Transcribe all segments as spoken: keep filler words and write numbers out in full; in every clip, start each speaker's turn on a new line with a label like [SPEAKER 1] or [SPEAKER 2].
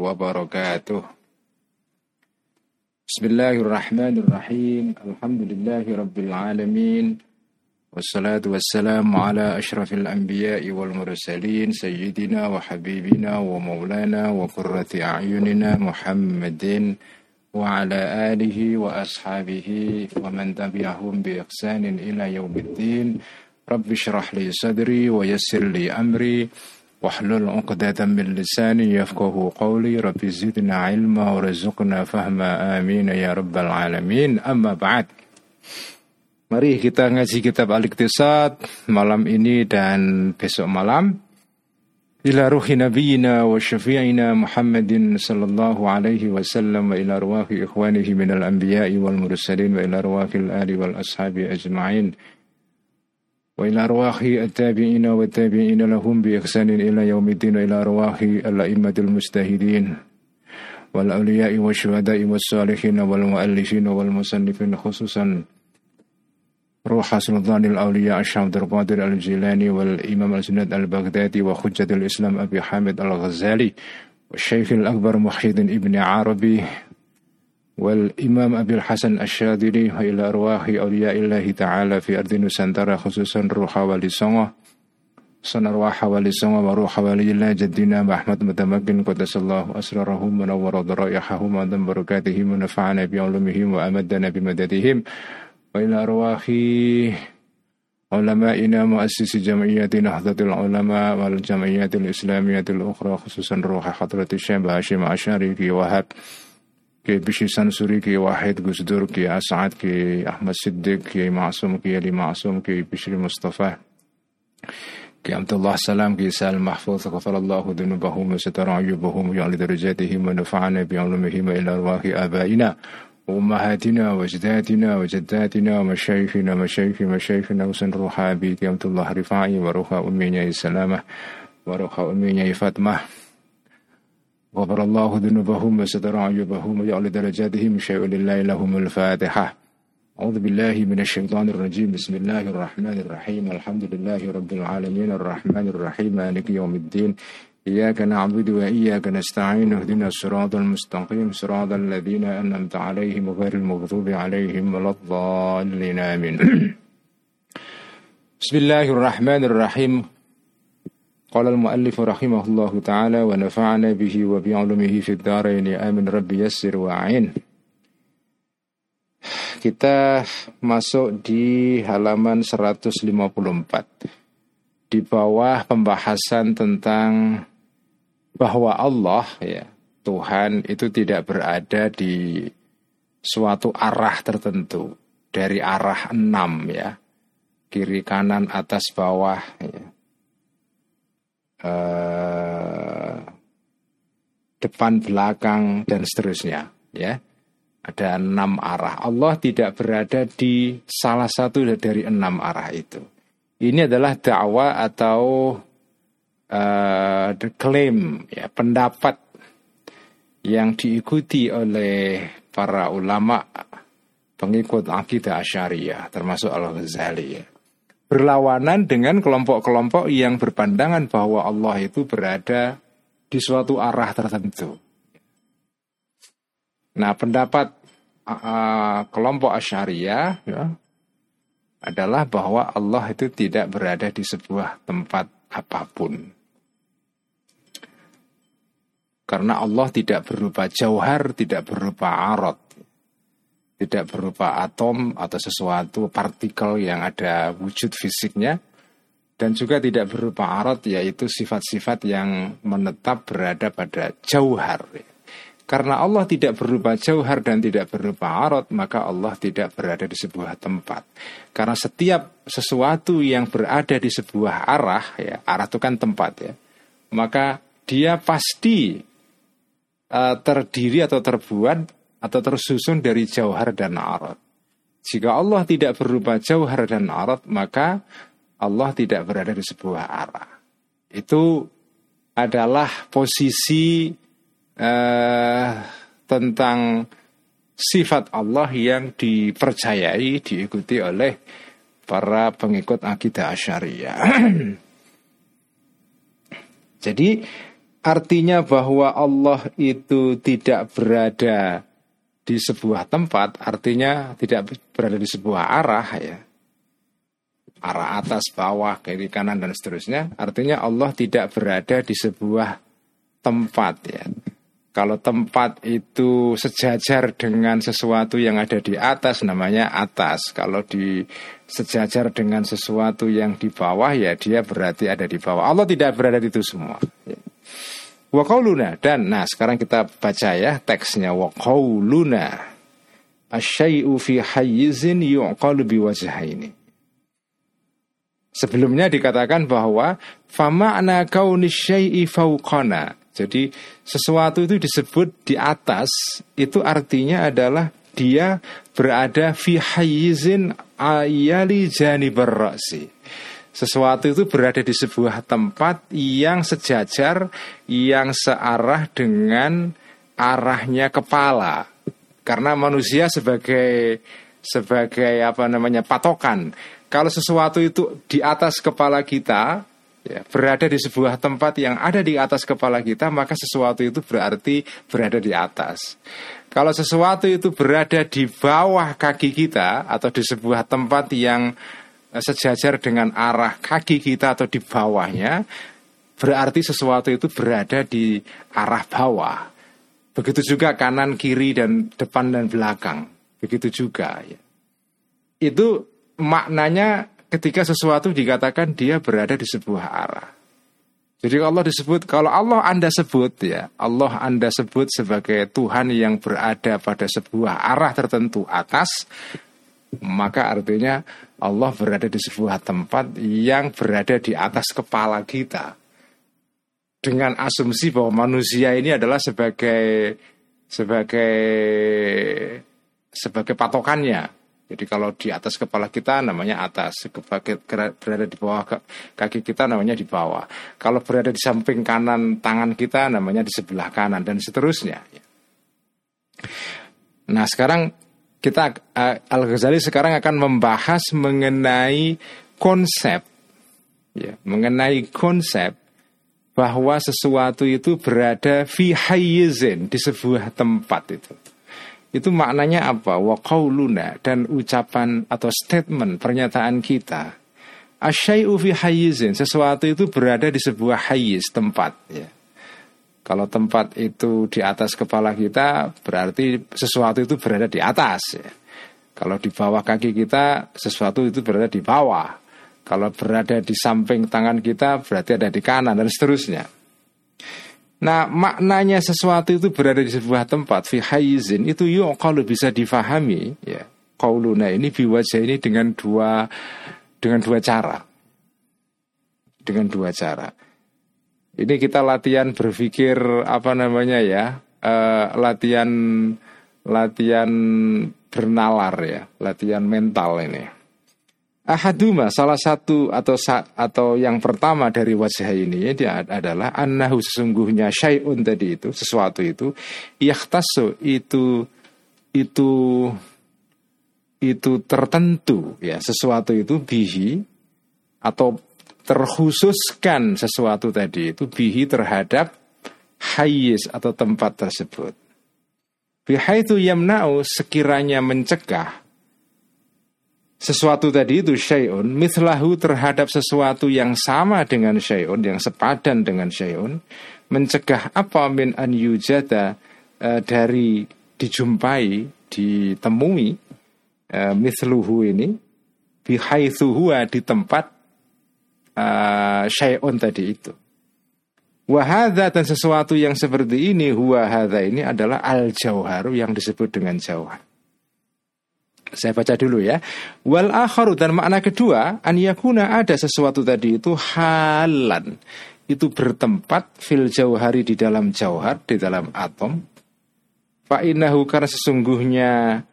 [SPEAKER 1] wabarakatuh. Bismillahirrahmanirrahim. Alhamdulillahi rabbil alamin. Wassalatu wassalamu ala ashrafil anbiya'i wal mursalin sayyidina wa habibina wa maulana wa qurrati a'yunina Muhammadin wa ala alihi wa ashabihi wa man tabi'ahum bi ihsanin ila yaumiddin. Rabbi shrah li sadri wa yassir li amri wahlul 'uqdatam min lisani yafqahu qawli. Rabbi zidna ilma warzuqna fahma, amin ya rabbal alamin. Amma ba'd. Mari kita ngaji kitab Al-Iqtisad malam ini dan besok malam. Ila ruhi nabiyina wa syafi'ina Muhammadin sallallahu alaihi wasallam, wa ila ruhi ikhwanihi minal anbiya'i wal mursalin, wa ila ruhi al-ali wal ashabi ajma'in, wa ila ruhi at-tabi'ina wa at-tabi'ina lahum bi ihsanin ila yaumiddin, wa ila ruhi al-a'immatil mustahidin wal awliya'i wa syuhada'i was salihin wal mu'allifin wal musannifin, khususan روح سلطان الأولياء الشيخ عبد القادر الجيلاني والإمام الجنيد البغدادي وحجة الإسلام أبي حامد الغزالي والشيخ الأكبر محي الدين ابن عربي والإمام أبي الحسن الشاذلي، وإلى أرواح أولياء الله تعالى في أرض نوسانتارا، خصوصا روح ولي سونغ صن أرواح ولي سونغ وروح ولي الله جدنا أحمد متمكن قدس الله أسرارهم ونور ضرائحهم وأدم بركاتهم ونفعنا بعلومهم وأمدنا بمددهم، وإلى أرواح علمائنا مؤسس جمعية نهضة العلماء والجمعيات الإسلامية الأخرى، خصوصا روح حضرة الشيخ هاشم عشاري كي وهاب كي بشي سنسوري كي واحد قصدور كي أسعد كي أحمد صديق كي معصوم كي علي معصوم كي بشري مصطفى كي عبد الله سلام كي سالم محفوظ، غفر الله ذنوبهم وستر عيوبهم ويعلي درجاتهم ونفعنا بعلومهم، إلى أرواح آبائنا وأمهاتنا وأجدادنا وجداتنا ومشايخنا مشايخ مشايخنا وسن روح أبي عبد الله رفاعي وروح أمي سلامة وروح أمي فاطمة، غفر الله ذنوبهم وستر عيوبهم ويعلي درجاتهم، شيء لله لهم الفاتحة. أعوذ بالله من الشيطان الرجيم. بسم الله الرحمن الرحيم. الحمد لله رب العالمين الرحمن الرحيم مالك يوم الدين، إياك نعبد وإياك نستعين، اهدنا الصراط المستقيم صراط الذين أنعمت عليهم غير المغضوب عليهم ولا الضالين، آمين. بسم الله الرحمن الرحيم. قال المؤلف رحمه الله تعالى ونفعنا به وبعلومه في الدارين، آمين رب يسر وأعين. Kita masuk di halaman seratus lima puluh empat di bawah pembahasan tentang bahwa Allah, ya, Tuhan itu tidak berada di suatu arah tertentu, dari arah enam, ya, kiri kanan atas bawah, ya, uh, depan belakang dan seterusnya, ya, ada enam arah. Allah tidak berada di salah satu dari enam arah itu. Ini adalah dakwah atau Uh, klaim, ya, pendapat yang diikuti oleh para ulama pengikut akidah Asy'ariyah termasuk Al-Ghazali, ya, berlawanan dengan kelompok-kelompok yang berpandangan bahwa Allah itu berada di suatu arah tertentu. Nah, pendapat uh, kelompok Asy'ariyah, ya, adalah bahwa Allah itu tidak berada di sebuah tempat apapun. Karena Allah tidak berupa jauhar, tidak berupa arad, tidak berupa atom atau sesuatu partikel yang ada wujud fisiknya, dan juga tidak berupa arad, yaitu sifat-sifat yang menetap berada pada jauhar. Karena Allah tidak berupa jauhar dan tidak berupa arad, maka Allah tidak berada di sebuah tempat. Karena setiap sesuatu yang berada di sebuah arah, ya, arah itu kan tempat, ya, maka dia pasti Uh, terdiri atau terbuat atau tersusun dari jauhar dan arad. Jika Allah tidak berupa jauhar dan arad, maka Allah tidak berada di sebuah arah. Itu adalah posisi uh, tentang sifat Allah yang dipercayai, diikuti oleh para pengikut akidah Asy'ariyah. Jadi artinya bahwa Allah itu tidak berada di sebuah tempat, artinya tidak berada di sebuah arah ya. Arah atas, bawah, kiri, kanan dan seterusnya. Artinya Allah tidak berada di sebuah tempat ya. Kalau tempat itu sejajar dengan sesuatu yang ada di atas namanya atas. Kalau di sejajar dengan sesuatu yang di bawah ya dia berarti ada di bawah. Allah tidak berada di itu semua. Wa qauluna, dan nah sekarang kita baca ya teksnya. Wa qauluna asyai'u fi hayyizin yu'qalu biwajhaini. Sebelumnya dikatakan bahwa fama'na kaunis syai'i fauqana. Jadi sesuatu itu disebut di atas, itu artinya adalah dia berada fi hayyizin ayali janibar ra'si. Sesuatu itu berada di sebuah tempat yang sejajar, yang searah dengan arahnya kepala. Karena manusia sebagai sebagai apa namanya patokan. Kalau sesuatu itu di atas kepala kita, ya, berada di sebuah tempat yang ada di atas kepala kita, maka sesuatu itu berarti berada di atas. Kalau sesuatu itu berada di bawah kaki kita atau di sebuah tempat yang sejajar dengan arah kaki kita atau di bawahnya, berarti sesuatu itu berada di arah bawah. Begitu juga kanan, kiri, dan depan dan belakang. Begitu juga ya. Itu maknanya ketika sesuatu dikatakan dia berada di sebuah arah. Jadi Allah disebut, kalau Allah Anda sebut ya, Allah Anda sebut sebagai Tuhan yang berada pada sebuah arah tertentu atas, maka artinya Allah berada di sebuah tempat yang berada di atas kepala kita. Dengan asumsi bahwa manusia ini adalah sebagai sebagai sebagai patokannya. Jadi kalau di atas kepala kita namanya atas, berada di bawah kaki kita namanya di bawah. Kalau berada di samping kanan tangan kita namanya di sebelah kanan dan seterusnya. Nah sekarang kita Al-Ghazali sekarang akan membahas mengenai konsep, ya, mengenai konsep bahwa sesuatu itu berada fi hayyizin, di sebuah tempat itu. Itu maknanya apa? Wa qauluna, dan ucapan atau statement pernyataan kita. Asyai'u fi hayyizin, sesuatu itu berada di sebuah hayyiz, tempat ya. Kalau tempat itu di atas kepala kita, berarti sesuatu itu berada di atas ya. Kalau di bawah kaki kita, sesuatu itu berada di bawah. Kalau berada di samping tangan kita, berarti ada di kanan dan seterusnya. Nah, maknanya sesuatu itu berada di sebuah tempat fi hayyizin itu yuk kalau bisa difahami ya. Qauluna ini biwajah ini dengan dua dengan dua cara. Dengan dua cara. Ini kita latihan berpikir apa namanya ya? Uh, latihan latihan bernalar ya, latihan mental ini. Ahaduma, salah satu atau atau yang pertama dari wajah ini dia adalah annahu, sesungguhnya syai'un tadi itu, sesuatu itu yakhtassu, itu itu itu tertentu ya, sesuatu itu bihi, atau terkhususkan sesuatu tadi itu bihi terhadap hayyiz atau tempat tersebut. Bihaitsu yamna'u, sekiranya mencegah sesuatu tadi itu syai'un mithlahu, terhadap sesuatu yang sama dengan syai'un, yang sepadan dengan syai'un. Mencegah apa? Min an yujada, e, dari dijumpai, ditemui, e, mithluhu ini bihaitsu huwa, di tempat e, syai'un tadi itu. Wa hadza, dan sesuatu yang seperti ini, huwa hadza ini adalah al-jauharu, yang disebut dengan jauhar. Saya baca dulu ya. Wal akharu, dan makna kedua, an yakuna, ada sesuatu tadi itu halan, itu bertempat fil jauhari, di dalam jauhar, di dalam atom. Fa innahu, karena sesungguhnya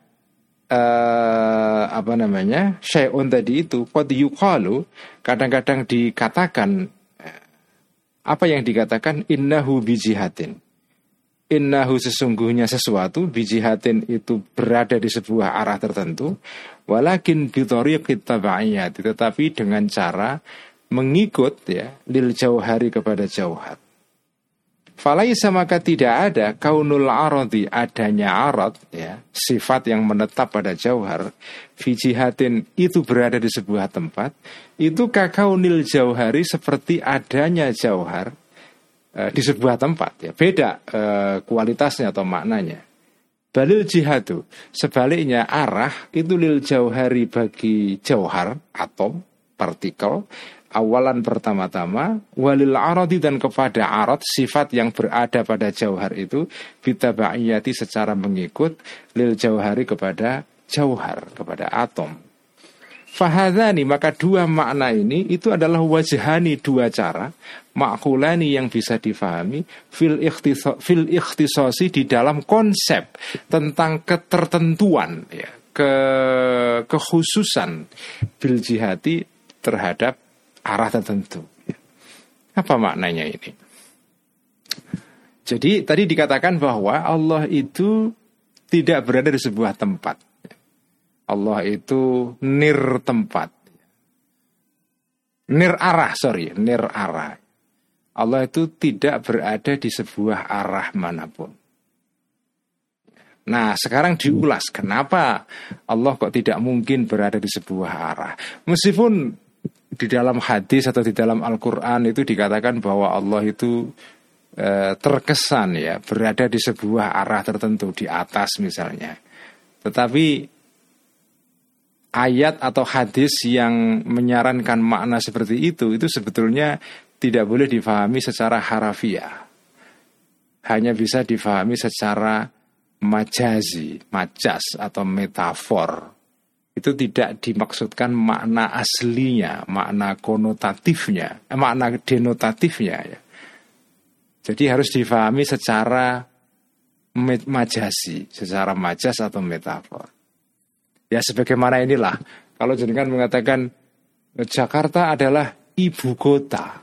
[SPEAKER 1] uh, apa namanya? syai'un tadi itu qad yuqalu, kadang-kadang dikatakan, apa yang dikatakan? Innahu bijihatin. Innahu, sesungguhnya sesuatu, bijihatin itu berada di sebuah arah tertentu, walakin bidhariqit tabaiyat, tetapi dengan cara mengikut ya lil jauhari, kepada jauhar. Falaisa maka tidak ada kaunul aradi, adanya arad ya, sifat yang menetap pada jauhar, fi jihatin itu berada di sebuah tempat, itu kakaunil jauhari seperti adanya jauhar e, di sebuah tempat ya. Beda e, kualitasnya atau maknanya. Balil jihadu, sebaliknya arah itu lil jauhari bagi jauhar, atom, partikel, awalan pertama-tama, walil aradi dan kepada arad, sifat yang berada pada jauhar itu, bitaba'iyati secara mengikut, lil jauhari kepada jauhar, kepada atom. Fahadhani, maka dua makna ini itu adalah wajhani, dua cara, ma'kulani yang bisa difahami, fil ikhtiso, fil ikhtisosi di dalam konsep tentang ketertentuan ya, ke kekhususan bil jihati terhadap arah tertentu. Apa maknanya ini? Jadi tadi dikatakan bahwa Allah itu tidak berada di sebuah tempat. Allah itu nir tempat, nir arah, sorry, nir arah. Allah itu tidak berada di sebuah arah manapun. Nah, sekarang diulas kenapa Allah kok tidak mungkin berada di sebuah arah. Meskipun di dalam hadis atau di dalam Al-Quran itu dikatakan bahwa Allah itu e, terkesan ya berada di sebuah arah tertentu, di atas misalnya. Tetapi ayat atau hadis yang menyarankan makna seperti itu, itu sebetulnya tidak boleh difahami secara harafiah. Hanya bisa difahami secara majazi, majas atau metafor. Itu tidak dimaksudkan makna aslinya, makna konotatifnya, eh, makna denotatifnya ya. Jadi harus difahami secara majazi, secara majas atau metafor. Ya sebagaimana inilah, kalau jenengan mengatakan Jakarta adalah ibu kota,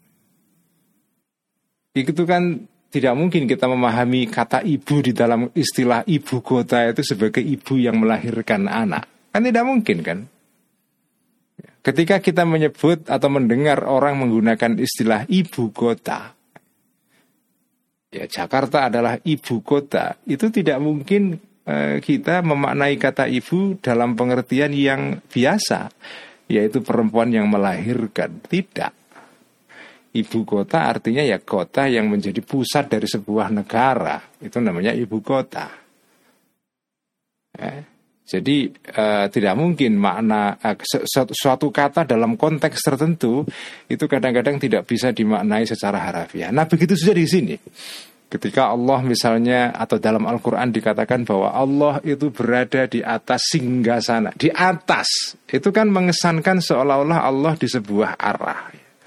[SPEAKER 1] itu kan tidak mungkin kita memahami kata ibu di dalam istilah ibu kota itu sebagai ibu yang melahirkan anak. Kan tidak mungkin kan. Ketika kita menyebut atau mendengar orang menggunakan istilah ibu kota, ya Jakarta adalah ibu kota, itu tidak mungkin eh, kita memaknai kata ibu dalam pengertian yang biasa, yaitu perempuan yang melahirkan. Tidak. Ibu kota artinya ya kota yang menjadi pusat dari sebuah negara, itu namanya ibu kota. Eh. Jadi uh, tidak mungkin makna uh, suatu kata dalam konteks tertentu itu kadang-kadang tidak bisa dimaknai secara harafiah. Nah begitu saja di sini. Ketika Allah misalnya atau dalam Al-Quran dikatakan bahwa Allah itu berada di atas singgasana, di atas, itu kan mengesankan seolah-olah Allah di sebuah arah.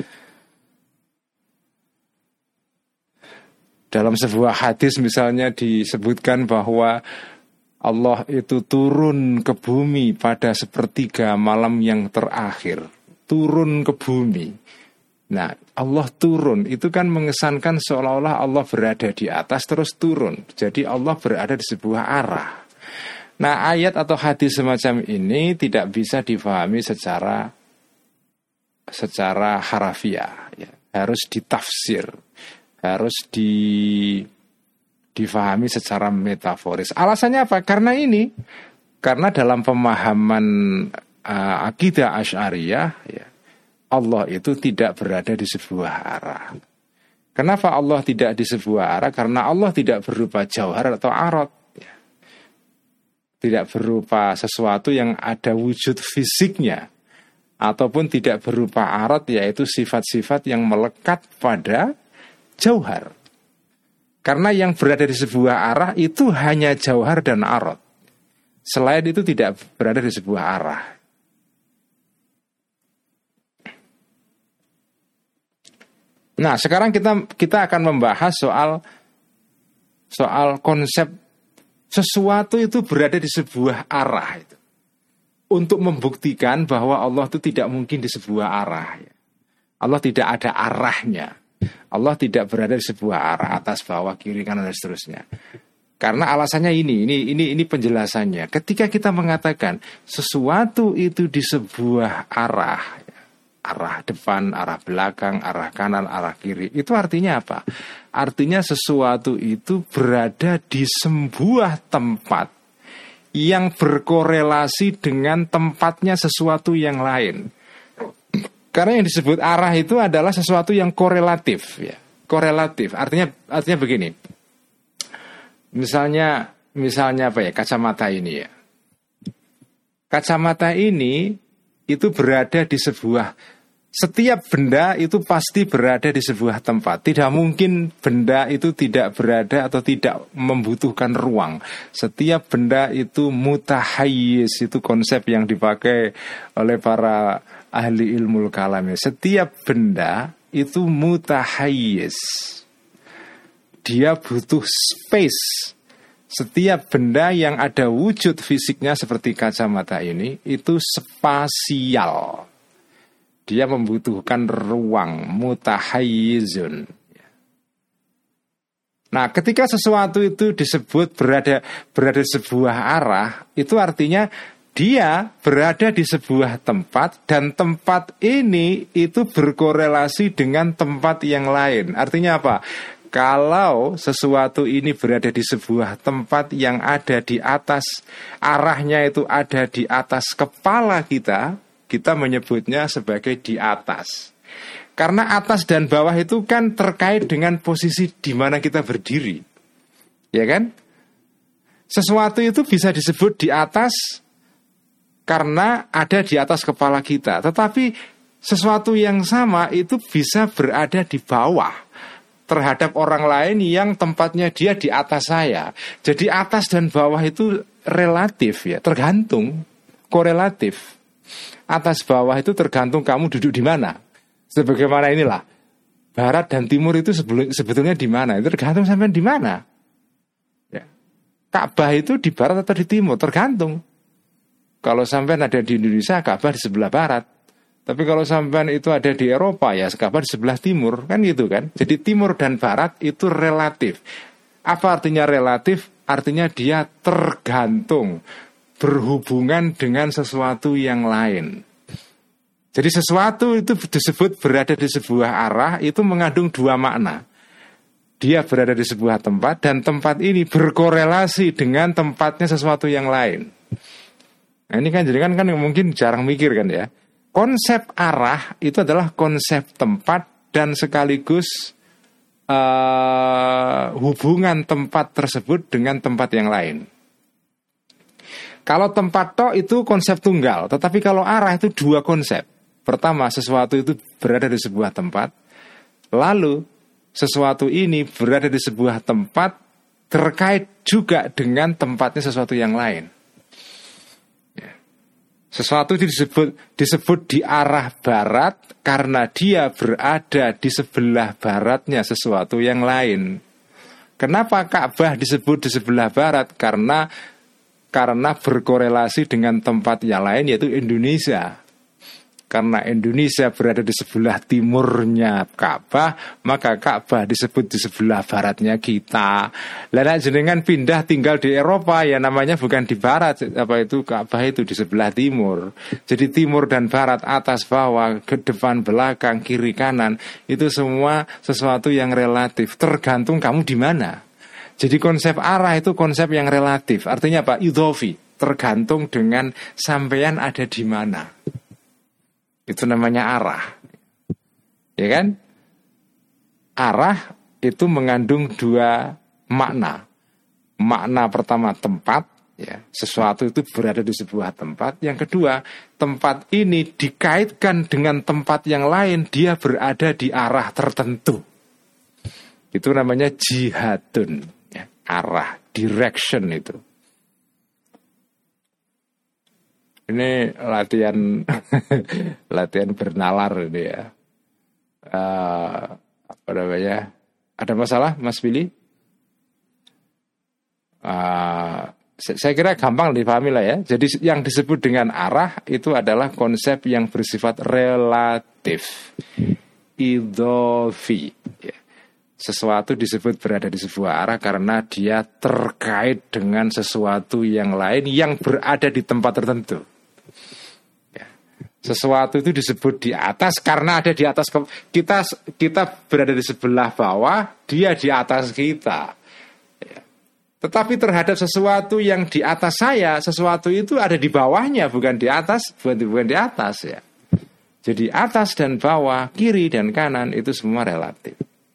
[SPEAKER 1] Dalam sebuah hadis misalnya disebutkan bahwa Allah itu turun ke bumi pada sepertiga malam yang terakhir. Turun ke bumi. Nah, Allah turun itu kan mengesankan seolah-olah Allah berada di atas terus turun. Jadi Allah berada di sebuah arah. Nah, ayat atau hadis semacam ini tidak bisa difahami secara secara harafiah. Ya. Harus ditafsir. Harus di difahami secara metaforis. Alasannya apa? Karena ini, karena dalam pemahaman uh, akidah Asy'ariyah, ya, Allah itu tidak berada di sebuah arah. Kenapa Allah tidak di sebuah arah? Karena Allah tidak berupa jauhar atau arad, ya. Tidak berupa sesuatu yang ada wujud fisiknya, ataupun tidak berupa arad, yaitu sifat-sifat yang melekat pada jauhar. Karena yang berada di sebuah arah itu hanya jauhar dan arad. Selain itu tidak berada di sebuah arah. Nah, sekarang kita kita akan membahas soal soal konsep sesuatu itu berada di sebuah arah itu. Untuk membuktikan bahwa Allah itu tidak mungkin di sebuah arah. Allah tidak ada arahnya. Allah tidak berada di sebuah arah, atas, bawah, kiri, kanan dan seterusnya. Karena alasannya ini, ini, ini, ini penjelasannya. Ketika kita mengatakan sesuatu itu di sebuah arah, arah depan, arah belakang, arah kanan, arah kiri. Itu artinya apa? Artinya sesuatu itu berada di sebuah tempat yang berkorelasi dengan tempatnya sesuatu yang lain. Karena yang disebut arah itu adalah sesuatu yang korelatif, ya. Korelatif. Artinya artinya begini. Misalnya misalnya apa ya? Kacamata ini ya. Kacamata ini itu berada di sebuah, setiap benda itu pasti berada di sebuah tempat. Tidak mungkin benda itu tidak berada atau tidak membutuhkan ruang. Setiap benda itu mutahayyiz, itu konsep yang dipakai oleh para ahli ilmu kalam. Setiap benda itu mutahayyiz. Dia butuh space. Setiap benda yang ada wujud fisiknya seperti kacamata ini itu spasial. Dia membutuhkan ruang, mutahayyizun. Nah, ketika sesuatu itu disebut berada berada di sebuah arah, itu artinya dia berada di sebuah tempat dan tempat ini itu berkorelasi dengan tempat yang lain. Artinya apa? Kalau sesuatu ini berada di sebuah tempat yang ada di atas, arahnya itu ada di atas kepala kita, kita menyebutnya sebagai di atas. Karena atas dan bawah itu kan terkait dengan posisi di mana kita berdiri. Ya kan? Sesuatu itu bisa disebut di atas karena ada di atas kepala kita. Tetapi sesuatu yang sama itu bisa berada di bawah terhadap orang lain yang tempatnya dia di atas saya. Jadi atas dan bawah itu relatif ya, tergantung, korelatif. Atas bawah itu tergantung kamu duduk di mana. Sebagaimana inilah, barat dan timur itu sebetulnya di mana? Itu tergantung sampai di mana. Ya. Ka'bah itu di barat atau di timur, tergantung. Kalau sampai ada di Indonesia, Ka'bah di sebelah barat. Tapi kalau sampean itu ada di Eropa, ya Ka'bah di sebelah timur, kan gitu kan. Jadi timur dan barat itu relatif. Apa artinya relatif? Artinya dia tergantung, berhubungan dengan sesuatu yang lain. Jadi sesuatu itu disebut berada di sebuah arah, itu mengandung dua makna. Dia berada di sebuah tempat, dan tempat ini berkorelasi dengan tempatnya sesuatu yang lain. Nah ini kan jadi kan, kan mungkin jarang mikir kan ya. Konsep arah itu adalah konsep tempat dan sekaligus uh, hubungan tempat tersebut dengan tempat yang lain. Kalau tempat tok itu konsep tunggal, tetapi kalau arah itu dua konsep. Pertama, sesuatu itu berada di sebuah tempat, lalu sesuatu ini berada di sebuah tempat terkait juga dengan tempatnya sesuatu yang lain. Sesuatu itu disebut disebut di arah barat karena dia berada di sebelah baratnya sesuatu yang lain. Kenapa Ka'bah disebut di sebelah barat? Karena karena berkorelasi dengan tempat yang lain, yaitu Indonesia. Karena Indonesia berada di sebelah timurnya Ka'bah, maka Ka'bah disebut di sebelah baratnya kita. Lah jenengan pindah tinggal di Eropa, ya namanya bukan di barat, apa itu Ka'bah itu di sebelah timur. Jadi timur dan barat, atas bawah, ke depan belakang, kiri kanan, itu semua sesuatu yang relatif, tergantung kamu di mana. Jadi konsep arah itu konsep yang relatif. Artinya apa? Idhofi, tergantung dengan sampean ada di mana. Itu namanya arah. Ya kan? Arah itu mengandung dua makna. Makna pertama tempat, ya, sesuatu itu berada di sebuah tempat. Yang kedua, tempat ini dikaitkan dengan tempat yang lain, dia berada di arah tertentu. Itu namanya jihadun, ya, arah, direction itu. Ini latihan latihan bernalar ini ya. Uh, apa namanya? Ada masalah, Mas Billy? Uh, saya kira gampang dipahami lah ya. Jadi yang disebut dengan arah itu adalah konsep yang bersifat relatif, idhofi. Ya. Sesuatu disebut berada di sebuah arah karena dia terkait dengan sesuatu yang lain yang berada di tempat tertentu. Sesuatu itu disebut di atas karena ada di atas kita, kita berada di sebelah bawah, dia di atas kita. Ya. Tetapi terhadap sesuatu yang di atas saya, sesuatu itu ada di bawahnya, bukan di atas, bukan, bukan di atas ya. Jadi atas dan bawah, kiri dan kanan itu semua relatif.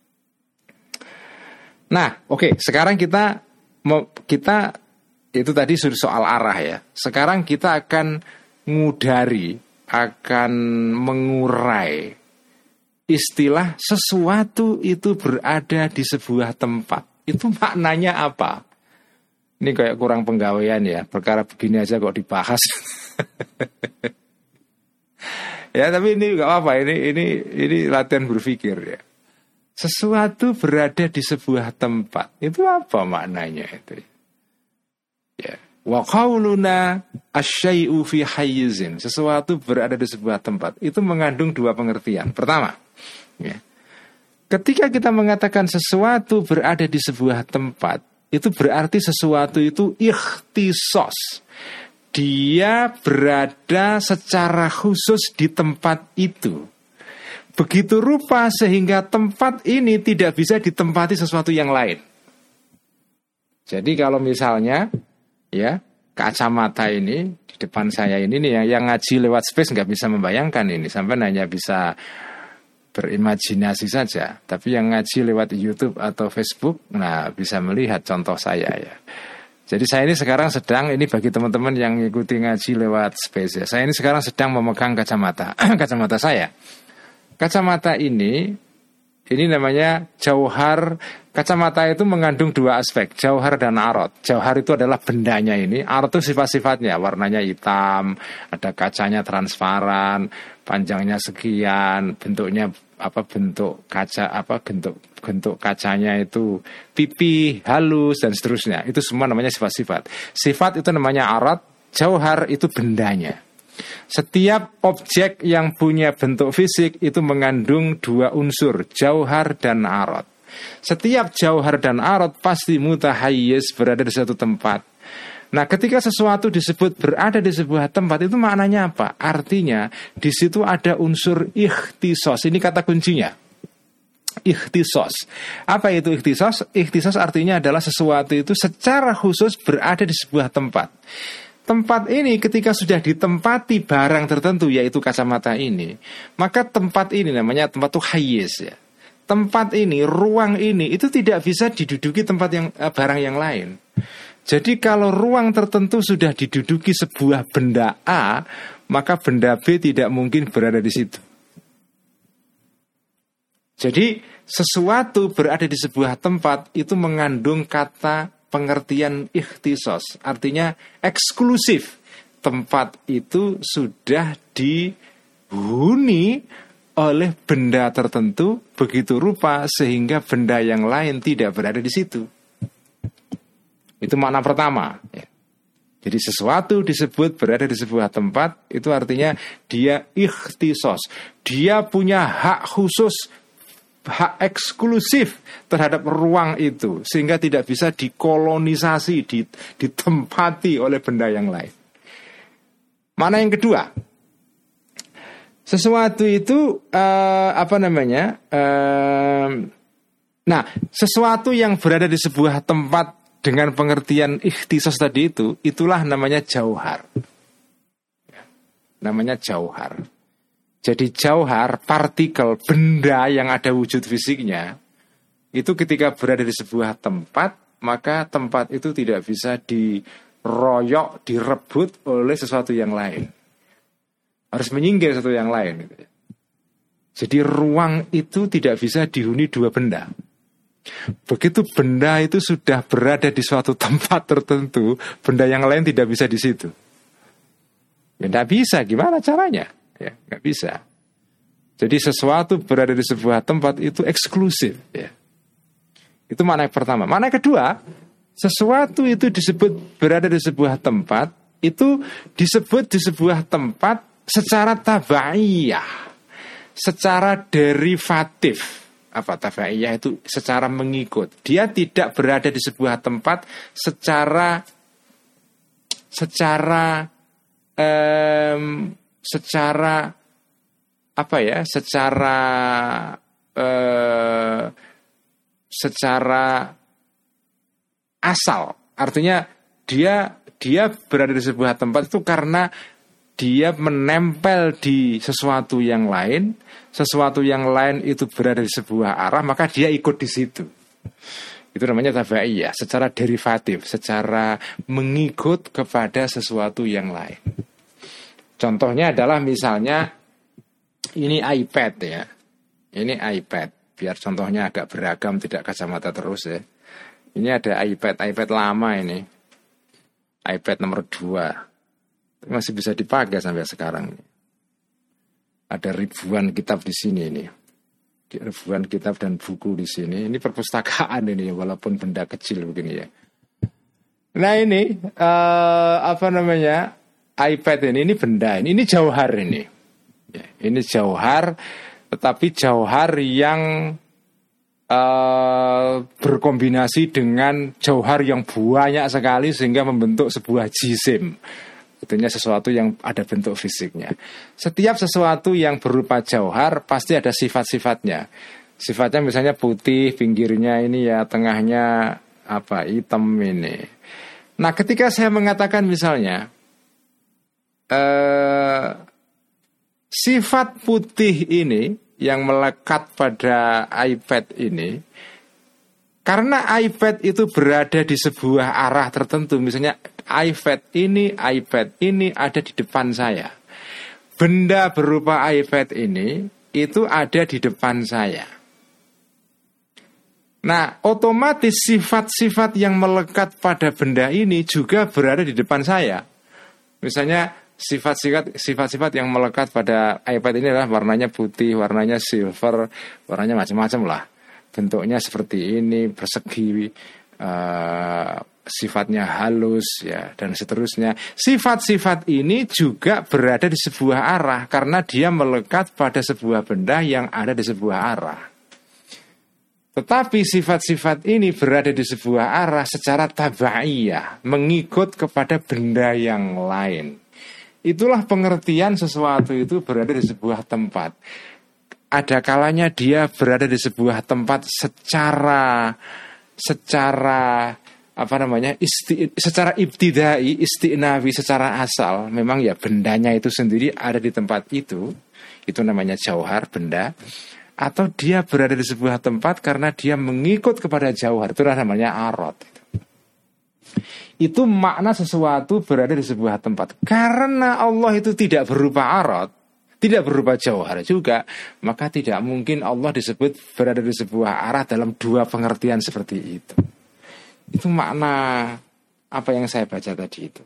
[SPEAKER 1] Nah, oke, okay, sekarang kita mau kita itu tadi soal arah ya. Sekarang kita akan ngudari, akan mengurai istilah sesuatu itu berada di sebuah tempat. Itu maknanya apa? Ini kayak kurang penggawaian ya. Perkara begini aja kok dibahas. Ya, tapi ini nggak apa-apa. Ini ini ini latihan berpikir ya. Sesuatu berada di sebuah tempat. Itu apa maknanya itu? Ya. Wa qauluna asy-syai'u fi hayyizin, sesuatu berada di sebuah tempat, itu mengandung dua pengertian. Pertama, ya, ketika kita mengatakan sesuatu berada di sebuah tempat, itu berarti sesuatu itu ikhtisos. Dia berada secara khusus di tempat itu. Begitu rupa sehingga tempat ini tidak bisa ditempati sesuatu yang lain. Jadi kalau misalnya ya, kacamata ini di depan saya ini nih yang, yang ngaji lewat space nggak bisa membayangkan ini, sampai hanya bisa berimajinasi saja. Tapi yang ngaji lewat YouTube atau Facebook, nah bisa melihat contoh saya ya. Jadi saya ini sekarang sedang, ini bagi teman-teman yang ngikuti ngaji lewat space ya, saya ini sekarang sedang memegang kacamata, kacamata saya. Kacamata ini, ini namanya jauhar. Kacamata itu mengandung dua aspek, jauhar dan arot. Jauhar itu adalah bendanya ini, arot itu sifat-sifatnya, warnanya hitam, ada kacanya transparan, panjangnya sekian, bentuknya apa bentuk kaca apa bentuk bentuk kacanya itu pipi, halus dan seterusnya. Itu semua namanya sifat-sifat. Sifat itu namanya arot, jauhar itu bendanya. Setiap objek yang punya bentuk fisik itu mengandung dua unsur, jauhar dan arot. Setiap jauhar dan arot pasti mutahayyiz, berada di suatu tempat. Nah, ketika sesuatu disebut berada di sebuah tempat, itu maknanya apa? Artinya di situ ada unsur ikhtisos. Ini kata kuncinya. Ikhtisos. Apa itu ikhtisos? Ikhtisos artinya adalah sesuatu itu secara khusus berada di sebuah tempat. Tempat ini ketika sudah ditempati barang tertentu, yaitu kacamata ini, maka tempat ini namanya tempat itu hayyiz ya. Tempat ini, ruang ini itu tidak bisa diduduki tempat yang barang yang lain. Jadi kalau ruang tertentu sudah diduduki sebuah benda A, maka benda B tidak mungkin berada di situ. Jadi sesuatu berada di sebuah tempat itu mengandung kata pengertian ikhtisos, artinya eksklusif. Tempat itu sudah dihuni oleh benda tertentu begitu rupa sehingga benda yang lain tidak berada di situ. Itu makna pertama ya. Jadi sesuatu disebut berada di sebuah tempat, itu artinya dia ikhtisos. Dia punya hak khusus, hak eksklusif terhadap ruang itu, sehingga tidak bisa dikolonisasi, ditempati oleh benda yang lain. Mana yang kedua? Sesuatu itu uh, apa namanya? Uh, nah, sesuatu yang berada di sebuah tempat dengan pengertian ikhtisos tadi itu, itulah namanya jauhar. Namanya jauhar. Jadi jauhar, partikel, benda yang ada wujud fisiknya, itu ketika berada di sebuah tempat, maka tempat itu tidak bisa diroyok, direbut oleh sesuatu yang lain. Harus menyingkir sesuatu yang lain. Jadi ruang itu tidak bisa dihuni dua benda. Begitu benda itu sudah berada di suatu tempat tertentu, benda yang lain tidak bisa di situ. Ya tidak bisa, gimana caranya? Ya, nggak bisa. Jadi sesuatu berada di sebuah tempat itu eksklusif ya. Itu makna yang pertama. Makna yang kedua, sesuatu itu disebut berada di sebuah tempat, itu disebut di sebuah tempat secara tabaiyah, secara derivatif. Apa tabaiyah itu? Secara mengikut. Dia tidak berada di sebuah tempat secara secara um, secara apa ya? Secara eh, secara asal. Artinya dia dia berada di sebuah tempat itu karena dia menempel di sesuatu yang lain, sesuatu yang lain itu berada di sebuah arah, maka dia ikut di situ. Itu namanya tabaiyah, secara derivatif, secara mengikut kepada sesuatu yang lain. Contohnya adalah misalnya ini iPad ya. Ini iPad, biar contohnya agak beragam, tidak kacamata terus ya. Ini ada iPad, iPad lama ini. iPad nomor dua. Masih bisa dipakai sampai sekarang. Ada ribuan kitab di sini ini. Ribuan kitab dan buku di sini. Ini perpustakaan ini, walaupun benda kecil begini ya. Nah ini uh, apa namanya iPad ini, ini benda ini, ini jauhar ini. Ya, ini jauhar, tetapi jauhar yang uh, berkombinasi dengan jauhar yang banyak sekali sehingga membentuk sebuah jisim. Tentunya sesuatu yang ada bentuk fisiknya. Setiap sesuatu yang berupa jauhar pasti ada sifat-sifatnya. Sifatnya misalnya putih, pinggirnya ini ya, tengahnya apa, hitam ini. Nah ketika saya mengatakan misalnya eh, sifat putih ini yang melekat pada iPad ini, karena iPad itu berada di sebuah arah tertentu, misalnya iPad ini, iPad ini ada di depan saya. Benda berupa iPad ini itu ada di depan saya. Nah, otomatis sifat-sifat yang melekat pada benda ini juga berada di depan saya. Misalnya sifat-sifat sifat-sifat yang melekat pada iPad ini adalah warnanya putih, warnanya silver, warnanya macam-macam lah. Bentuknya seperti ini, persegi, uh, sifatnya halus ya, dan seterusnya. Sifat-sifat ini juga berada di sebuah arah karena dia melekat pada sebuah benda yang ada di sebuah arah. Tetapi sifat-sifat ini berada di sebuah arah secara tabaiyah, mengikut kepada benda yang lain. Itulah pengertian sesuatu itu berada di sebuah tempat. Ada kalanya dia berada di sebuah tempat secara secara apa namanya isti, secara ibtidai, isti'nawi, secara asal. Memang ya bendanya itu sendiri ada di tempat itu. Itu namanya jauhar, benda. Atau dia berada di sebuah tempat karena dia mengikut kepada jauhar. Itu namanya arad. Itu makna sesuatu berada di sebuah tempat. Karena Allah itu tidak berupa arad, tidak berupa jauhar juga, maka tidak mungkin Allah disebut berada di sebuah arah dalam dua pengertian seperti itu. Itu makna apa yang saya baca tadi itu.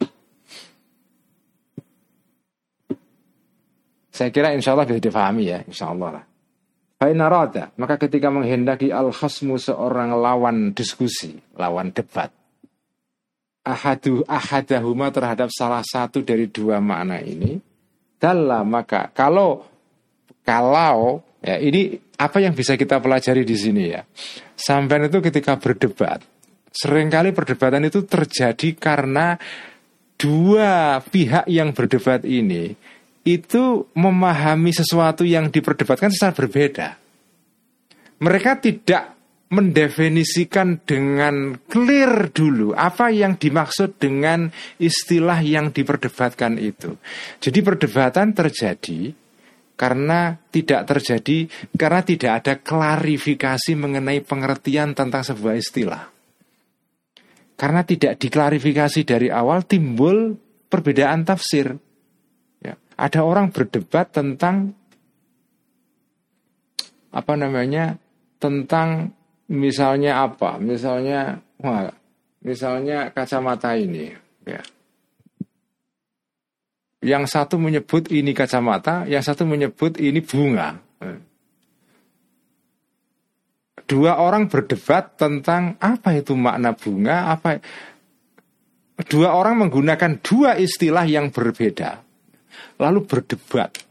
[SPEAKER 1] Saya kira insya Allah bisa difahami ya, insya Allah lah. Fa'inna rada, maka ketika menghendaki al-khasmu seorang lawan diskusi, lawan debat, ahadu ahadahuma terhadap salah satu dari dua makna ini, dalla, maka kalau kalau ya ini apa yang bisa kita pelajari di sini ya. Sampean itu ketika berdebat, seringkali perdebatan itu terjadi karena dua pihak yang berdebat ini itu memahami sesuatu yang diperdebatkan secara berbeda. Mereka tidak mendefinisikan dengan clear dulu apa yang dimaksud dengan istilah yang diperdebatkan itu. Jadi perdebatan terjadi karena tidak terjadi karena tidak ada klarifikasi mengenai pengertian tentang sebuah istilah. Karena tidak diklarifikasi dari awal, timbul perbedaan tafsir. Ya, ada orang berdebat tentang apa namanya? Tentang misalnya apa? Misalnya, wah, misalnya kacamata ini, ya. Yang satu menyebut ini kacamata, yang satu menyebut ini bunga. Dua orang berdebat tentang apa itu makna bunga, apa. Dua orang menggunakan dua istilah yang berbeda, lalu berdebat.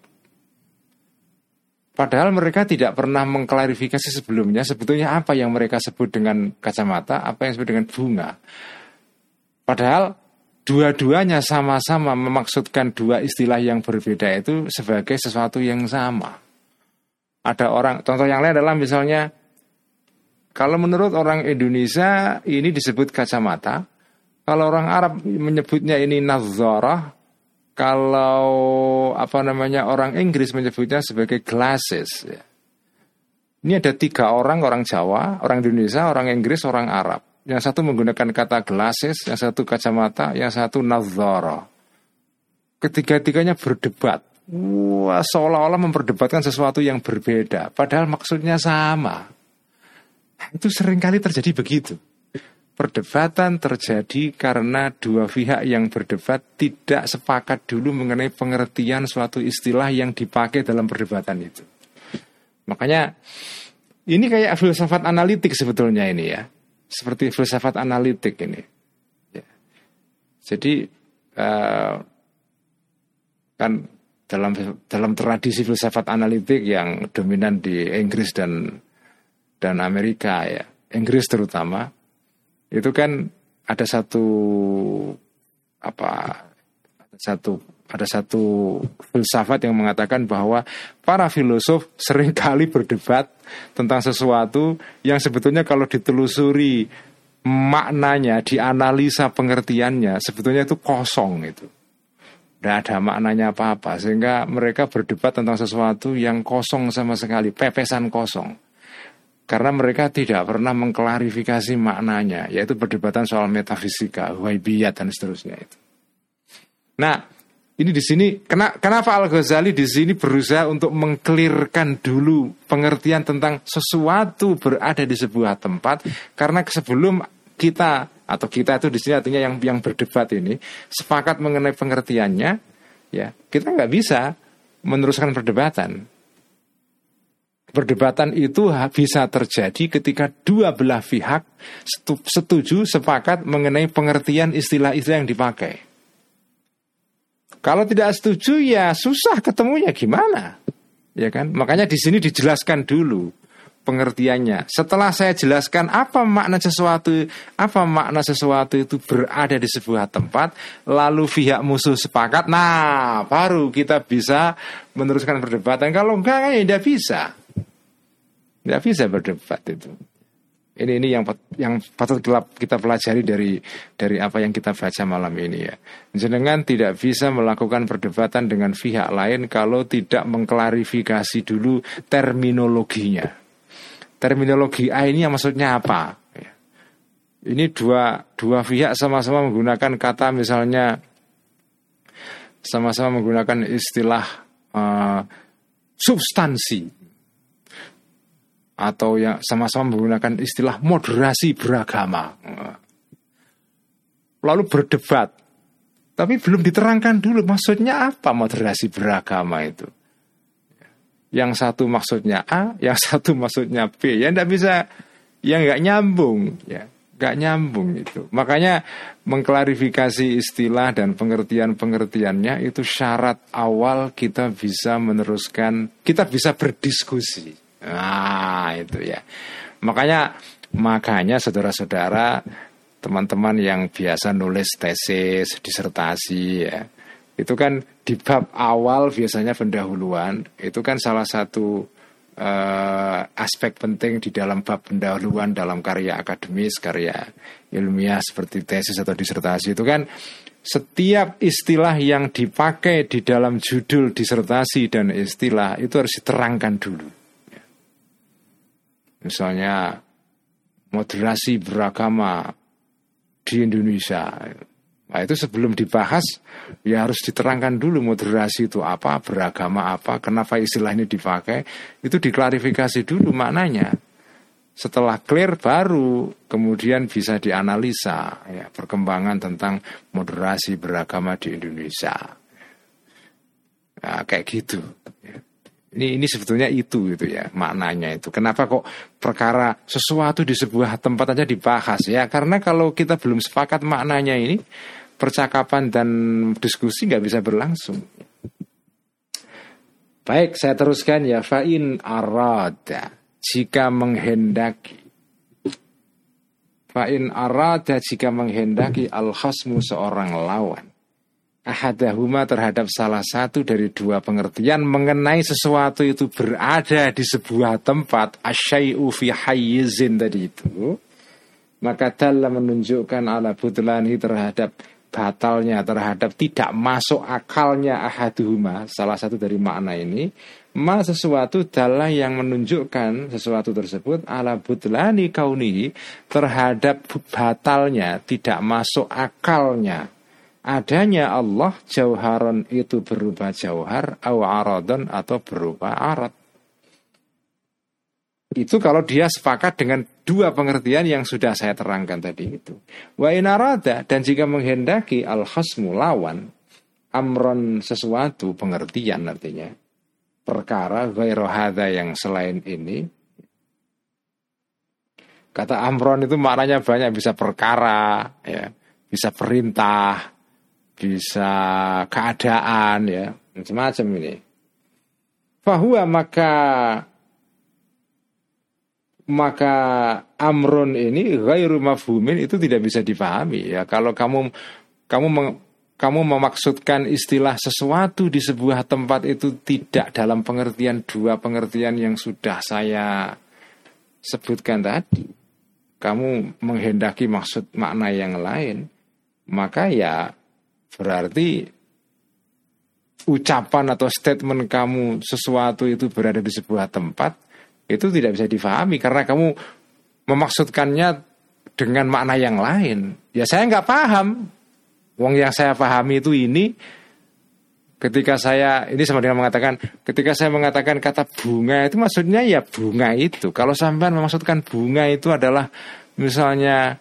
[SPEAKER 1] Padahal mereka tidak pernah mengklarifikasi sebelumnya sebetulnya apa yang mereka sebut dengan kacamata, apa yang disebut dengan bunga. Padahal dua-duanya sama-sama memaksudkan dua istilah yang berbeda itu sebagai sesuatu yang sama. Ada orang, contoh yang lain adalah misalnya kalau menurut orang Indonesia ini disebut kacamata, kalau orang Arab menyebutnya ini nadharah, kalau apa namanya orang Inggris menyebutnya sebagai glasses. Ini ada tiga orang, orang Jawa, orang Indonesia, orang Inggris, orang Arab. Yang satu menggunakan kata glasses, yang satu kacamata, yang satu nadharah. Ketiga-tiganya berdebat. Wah, seolah-olah memperdebatkan sesuatu yang berbeda, padahal maksudnya sama. Itu seringkali terjadi begitu. Perdebatan terjadi karena dua pihak yang berdebat tidak sepakat dulu mengenai pengertian suatu istilah yang dipakai dalam perdebatan itu. Makanya ini kayak filsafat analitik sebetulnya ini ya. Seperti filsafat analitik ini. Ya. Jadi uh, kan dalam dalam tradisi filsafat analitik yang dominan di Inggris dan dan Amerika ya, Inggris terutama, itu kan ada satu apa ada satu ada satu filsafat yang mengatakan bahwa para filosof seringkali berdebat tentang sesuatu yang sebetulnya kalau ditelusuri maknanya, dianalisa pengertiannya, sebetulnya itu kosong itu. Tidak ada maknanya apa-apa, sehingga mereka berdebat tentang sesuatu yang kosong sama sekali, pepesan kosong. Karena mereka tidak pernah mengklarifikasi maknanya, yaitu perdebatan soal metafisika, waibiyat dan seterusnya itu. Nah, ini di sini kenapa Al-Ghazali di sini berusaha untuk mengklirkan dulu pengertian tentang sesuatu berada di sebuah tempat, karena sebelum kita atau kita itu di sini artinya yang yang berdebat ini sepakat mengenai pengertiannya, ya kita nggak bisa meneruskan perdebatan. Perdebatan itu bisa terjadi ketika dua belah pihak setuju sepakat mengenai pengertian istilah-istilah yang dipakai. Kalau tidak setuju ya susah ketemunya gimana, ya kan? Makanya di sini dijelaskan dulu pengertiannya. Setelah saya jelaskan apa makna sesuatu, apa makna sesuatu itu berada di sebuah tempat, lalu pihak musuh sepakat, nah baru kita bisa meneruskan perdebatan. Kalau enggak ya tidak bisa, tidak bisa berdebat itu. Ini ini yang yang patut kita pelajari dari dari apa yang kita baca malam ini ya. Jenengan tidak bisa melakukan perdebatan dengan pihak lain kalau tidak mengklarifikasi dulu terminologinya. Terminologi A ini yang maksudnya apa? Ini dua dua pihak sama-sama menggunakan kata misalnya sama-sama menggunakan istilah uh, substansi. Atau yang sama-sama menggunakan istilah moderasi beragama. Lalu berdebat. Tapi belum diterangkan dulu maksudnya apa moderasi beragama itu. Yang satu maksudnya A, yang satu maksudnya B. Ya enggak bisa, ya enggak nyambung. Ya, enggak nyambung itu. Makanya mengklarifikasi istilah dan pengertian-pengertiannya itu syarat awal kita bisa meneruskan, kita bisa berdiskusi. Nah itu ya. Makanya Makanya saudara-saudara, teman-teman yang biasa nulis tesis, disertasi ya, itu kan di bab awal biasanya pendahuluan. Itu kan salah satu uh, aspek penting di dalam bab pendahuluan dalam karya akademis, karya ilmiah seperti tesis atau disertasi. Itu kan setiap istilah yang dipakai di dalam judul disertasi dan istilah itu harus diterangkan dulu. Misalnya moderasi beragama di Indonesia. Nah, itu sebelum dibahas ya harus diterangkan dulu moderasi itu apa, beragama apa, kenapa istilah ini dipakai, itu diklarifikasi dulu maknanya. Setelah clear baru kemudian bisa dianalisa ya, perkembangan tentang moderasi beragama di Indonesia. Nah, kayak gitu. Ini ini sebetulnya itu gitu ya maknanya itu. Kenapa kok perkara sesuatu di sebuah tempat aja dibahas ya? Karena kalau kita belum sepakat maknanya ini, percakapan dan diskusi nggak bisa berlangsung. Baik, saya teruskan ya. Fa'in arada, jika menghendaki. Fa in arada jika menghendaki al-khasmu seorang lawan ahadahuma terhadap salah satu dari dua pengertian mengenai sesuatu itu berada di sebuah tempat asyai'u fi hayyizin tadi itu, maka dalam menunjukkan ala butlani terhadap batalnya, terhadap tidak masuk akalnya ahaduhuma salah satu dari makna ini, ma sesuatu dalah yang menunjukkan sesuatu tersebut ala butlani kaunihi terhadap batalnya, tidak masuk akalnya adanya Allah jauharon itu berupa jauhar au aradon atau berupa arad. Itu kalau dia sepakat dengan dua pengertian yang sudah saya terangkan tadi itu. Wa in arada, dan jika menghendaki al khasmu lawan amron sesuatu pengertian artinya perkara ghairu hadza yang selain ini. Kata amron itu maknanya banyak, bisa perkara ya, bisa perintah, bisa keadaan ya, macam-macam ini. Fahuwa maka maka amrun ini ghairu mafhumin, itu tidak bisa dipahami ya. Kalau kamu kamu kamu memaksudkan istilah sesuatu di sebuah tempat itu tidak dalam pengertian dua pengertian yang sudah saya sebutkan tadi, kamu menghendaki maksud makna yang lain, maka ya berarti ucapan atau statement kamu sesuatu itu berada di sebuah tempat itu tidak bisa difahami karena kamu memaksudkannya dengan makna yang lain. Ya saya nggak paham. Wong yang saya pahami itu ini, ketika saya ini sama dengan mengatakan, ketika saya mengatakan kata bunga itu maksudnya ya bunga itu. Kalau sampean memaksudkan bunga itu adalah misalnya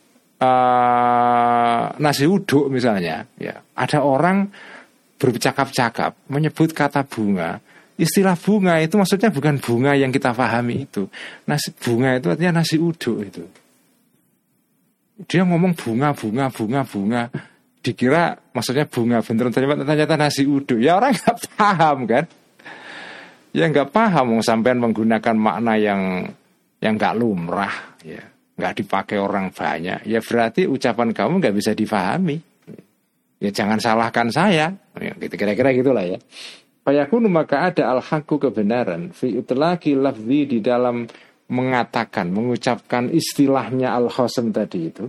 [SPEAKER 1] Uh, nasi uduk misalnya ya, ada orang bercakap-cakap menyebut kata bunga, istilah bunga itu maksudnya bukan bunga yang kita pahami itu. Nasi bunga itu artinya nasi uduk itu. Dia ngomong bunga bunga bunga bunga, dikira maksudnya bunga, beneran ternyata nasi uduk. Ya orang nggak paham kan? Ya nggak paham, sampean menggunakan makna yang yang nggak lumrah ya, nggak dipakai orang banyak, ya berarti ucapan kamu nggak bisa difahami. Ya jangan salahkan saya, ya, kira-kira gitulah ya. Fayakunu maka ada al-haqqu kebenaran fi utlaqi lafzi di dalam mengatakan, mengucapkan istilahnya al-khasm tadi itu.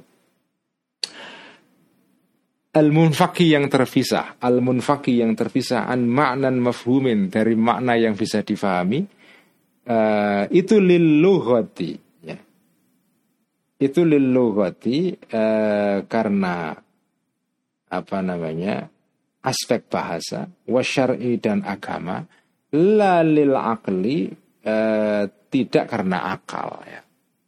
[SPEAKER 1] Al-munfaqi yang terpisah, al-munfaqi yang terpisah an ma'nan mafhumin dari makna yang bisa difahami, uh, itu lil lughati. Itu lil lughati eh, karena apa namanya aspek bahasa, wasyar'i dan agama, la lil aqli eh, tidak karena akal ya.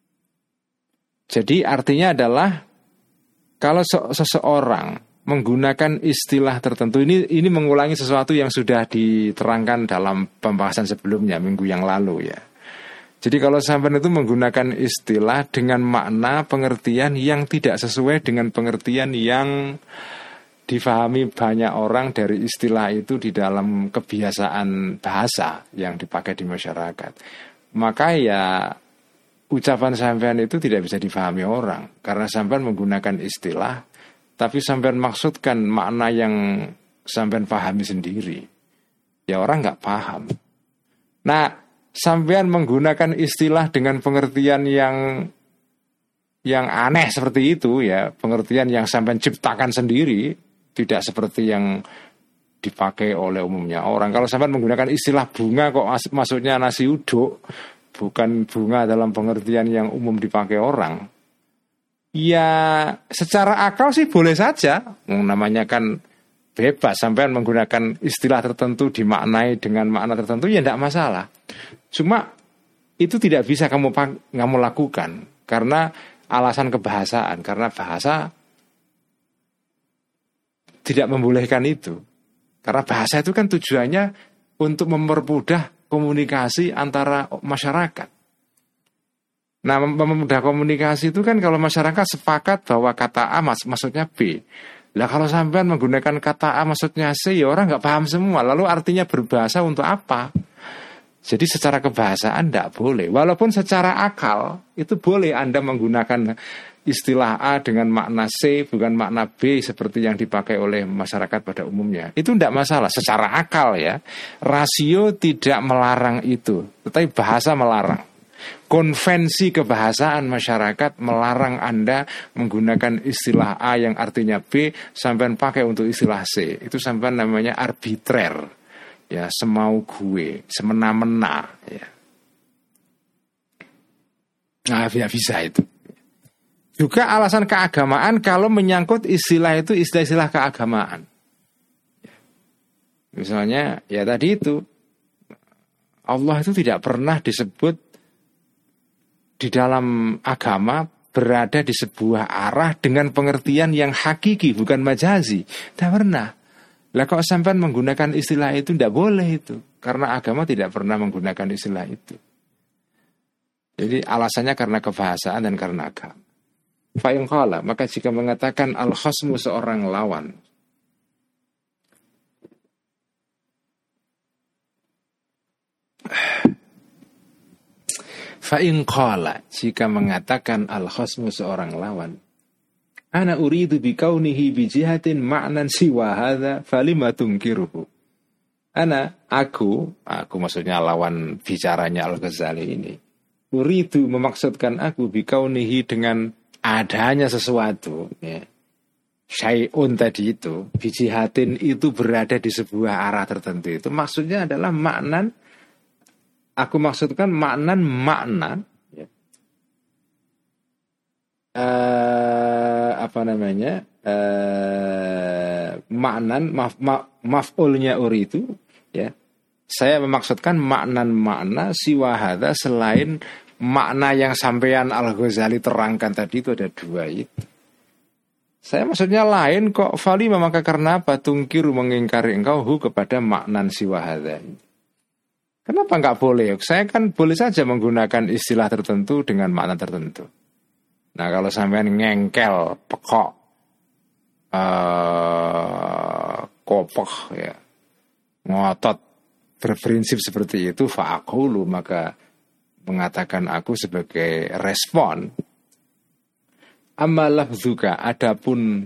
[SPEAKER 1] Jadi artinya adalah kalau seseorang menggunakan istilah tertentu, ini ini mengulangi sesuatu yang sudah diterangkan dalam pembahasan sebelumnya minggu yang lalu ya. Jadi kalau sampean itu menggunakan istilah dengan makna pengertian yang tidak sesuai dengan pengertian yang difahami banyak orang dari istilah itu di dalam kebiasaan bahasa yang dipakai di masyarakat, maka ya ucapan sampean itu tidak bisa difahami orang karena sampean menggunakan istilah tapi sampean maksudkan makna yang sampean pahami sendiri. Ya orang nggak paham. Nah, sampean menggunakan istilah dengan pengertian yang yang aneh seperti itu ya, pengertian yang sampean ciptakan sendiri, tidak seperti yang dipakai oleh umumnya orang. Kalau sampean menggunakan istilah bunga kok mas- maksudnya nasi uduk, bukan bunga dalam pengertian yang umum dipakai orang. Ya secara akal sih boleh saja, namanya kan bebas, sampean menggunakan istilah tertentu dimaknai dengan makna tertentu ya tidak masalah. Cuma itu tidak bisa kamu kamu lakukan karena alasan kebahasaan, karena bahasa tidak membolehkan itu. Karena bahasa itu kan tujuannya untuk mempermudah komunikasi antara masyarakat. Nah, mempermudah komunikasi itu kan kalau masyarakat sepakat bahwa kata A mas, maksudnya B. Lah kalau sampean menggunakan kata A maksudnya C, ya orang nggak paham semua. Lalu artinya berbahasa untuk apa? Jadi secara kebahasaan tidak boleh. Walaupun secara akal itu boleh Anda menggunakan istilah A dengan makna C bukan makna B seperti yang dipakai oleh masyarakat pada umumnya. Itu tidak masalah secara akal ya. Rasio tidak melarang itu, tetapi bahasa melarang. Konvensi kebahasaan masyarakat melarang Anda menggunakan istilah A yang artinya B sampai pakai untuk istilah C. Itu sampai namanya arbitrer. Ya, semau gue, semena-mena ya. Nah, tidak bisa itu. Juga alasan keagamaan kalau menyangkut istilah itu istilah-istilah keagamaan. Misalnya ya tadi itu Allah itu tidak pernah disebut di dalam agama berada di sebuah arah dengan pengertian yang hakiki bukan majazi. Tidak pernah. Lah kok sampai menggunakan istilah itu tidak boleh itu. Karena agama tidak pernah menggunakan istilah itu. Jadi alasannya karena kebahasaan dan karena agama. Fa'in qala, maka jika mengatakan al-khasmu seorang lawan, fa'in qala, jika mengatakan al-khasmu seorang lawan, ana uridu bikaunihi bijihatin ma'nan siwa hadha falima tunkiruhu. Ana, aku, aku maksudnya lawan bicaranya Al-Ghazali ini, uridu memaksudkan aku bikaunihi dengan adanya sesuatu ya. Syai'un tadi itu bijihatin itu berada di sebuah arah tertentu. Itu maksudnya adalah maknan. Aku maksudkan maknan makna ya. uh, Apa namanya uh, maknan maf, maf, maf'ulnya uri itu ya. Saya memaksudkan maknan makna siwahada selain makna yang sampean Al-Ghazali terangkan tadi itu ada dua itu. Saya maksudnya lain kok. Fali maka karena apa? Tungkiru mengingkari engkau hu kepada maknan siwahada. Kenapa enggak boleh? Saya kan boleh saja menggunakan istilah tertentu dengan makna tertentu. Nah kalau sampean ngengkel, pekok, uh, kopeh ya, ngotot, berprinsip seperti itu, fa'aqulu maka mengatakan aku sebagai respon. Amma lafzuka, adapun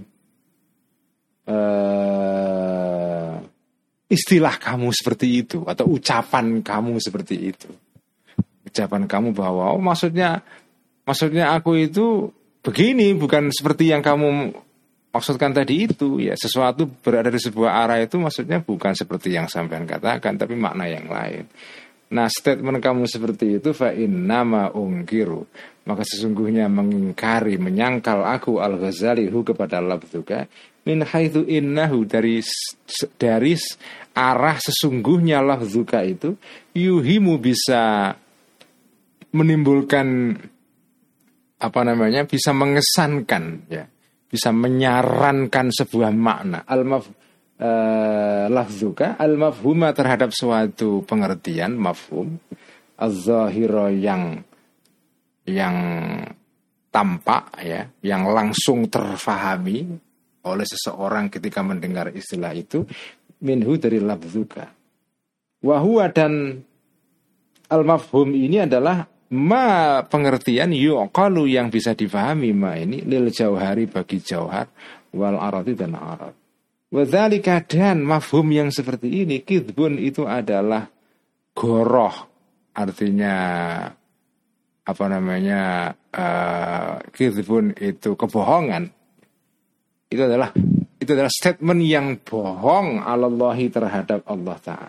[SPEAKER 1] uh, istilah kamu seperti itu atau ucapan kamu seperti itu, ucapan kamu bahwa oh maksudnya maksudnya aku itu begini bukan seperti yang kamu maksudkan tadi itu ya, sesuatu berada di sebuah arah itu maksudnya bukan seperti yang sampean katakan tapi makna yang lain. Nah statement kamu seperti itu fa innama ungkiru, maka sesungguhnya mengingkari menyangkal aku Al-Ghazali hu kepada lafzuka min haitsu innahu dari dari arah sesungguhnya lafzuka itu yuhimu bisa menimbulkan apa namanya bisa mengesankan ya, bisa menyarankan sebuah makna al-maf Uh, lafzuka al-mafhuma terhadap suatu pengertian mafhum az-zahira yang yang tampak ya, yang langsung terfahami oleh seseorang ketika mendengar istilah itu minhu dari lafzuka wa huwa, dan al-mafhum ini adalah ma pengertian yuqalu yang bisa difahami ma ini lil jauhari bagi jauhar wal aradi dan arad. Wadzalika, dan mafhum yang seperti ini kidbun itu adalah goroh, artinya apa namanya uh, kidbun itu kebohongan. Itu adalah itu adalah statement yang bohong alallahi terhadap Allah Ta'ala.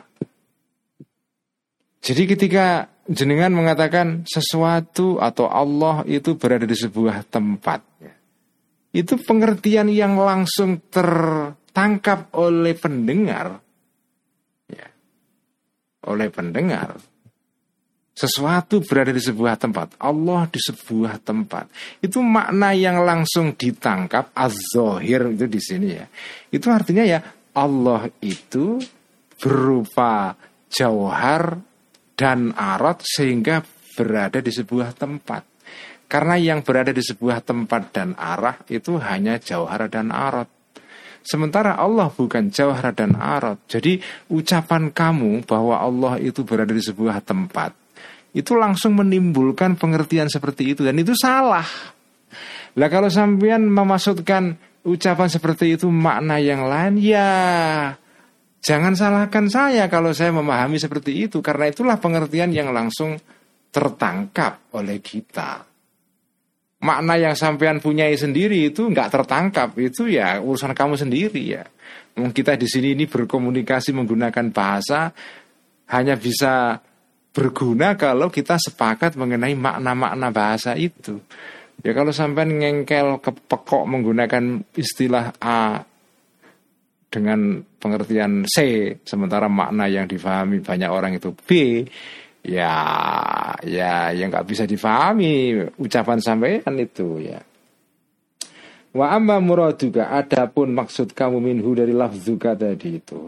[SPEAKER 1] Jadi ketika jenengan mengatakan sesuatu atau Allah itu berada di sebuah tempat ya, itu pengertian yang langsung ter tangkap oleh pendengar ya, oleh pendengar sesuatu berada di sebuah tempat, Allah di sebuah tempat, itu makna yang langsung ditangkap az-zahir itu di sini ya, itu artinya ya Allah itu berupa jauhar dan arad sehingga berada di sebuah tempat. Karena yang berada di sebuah tempat dan arah itu hanya jauhar dan arad. Sementara Allah bukan jauhar dan arad. Jadi ucapan kamu bahwa Allah itu berada di sebuah tempat itu langsung menimbulkan pengertian seperti itu, dan itu salah. Lah kalau sampean memaksudkan ucapan seperti itu makna yang lain, ya jangan salahkan saya kalau saya memahami seperti itu, karena itulah pengertian yang langsung tertangkap oleh kita. Makna yang sampean punyai sendiri itu nggak tertangkap, itu ya urusan kamu sendiri ya. Kita di sini ini berkomunikasi menggunakan bahasa hanya bisa berguna kalau kita sepakat mengenai makna-makna bahasa itu. Ya kalau sampean ngengkel kepekok menggunakan istilah A dengan pengertian C, sementara makna yang difahami banyak orang itu B, ya ya yang nggak bisa difahami ucapan sampean itu ya. Wa amma muraduka, adapun maksud kamu minhu dari lafzuka tadi itu.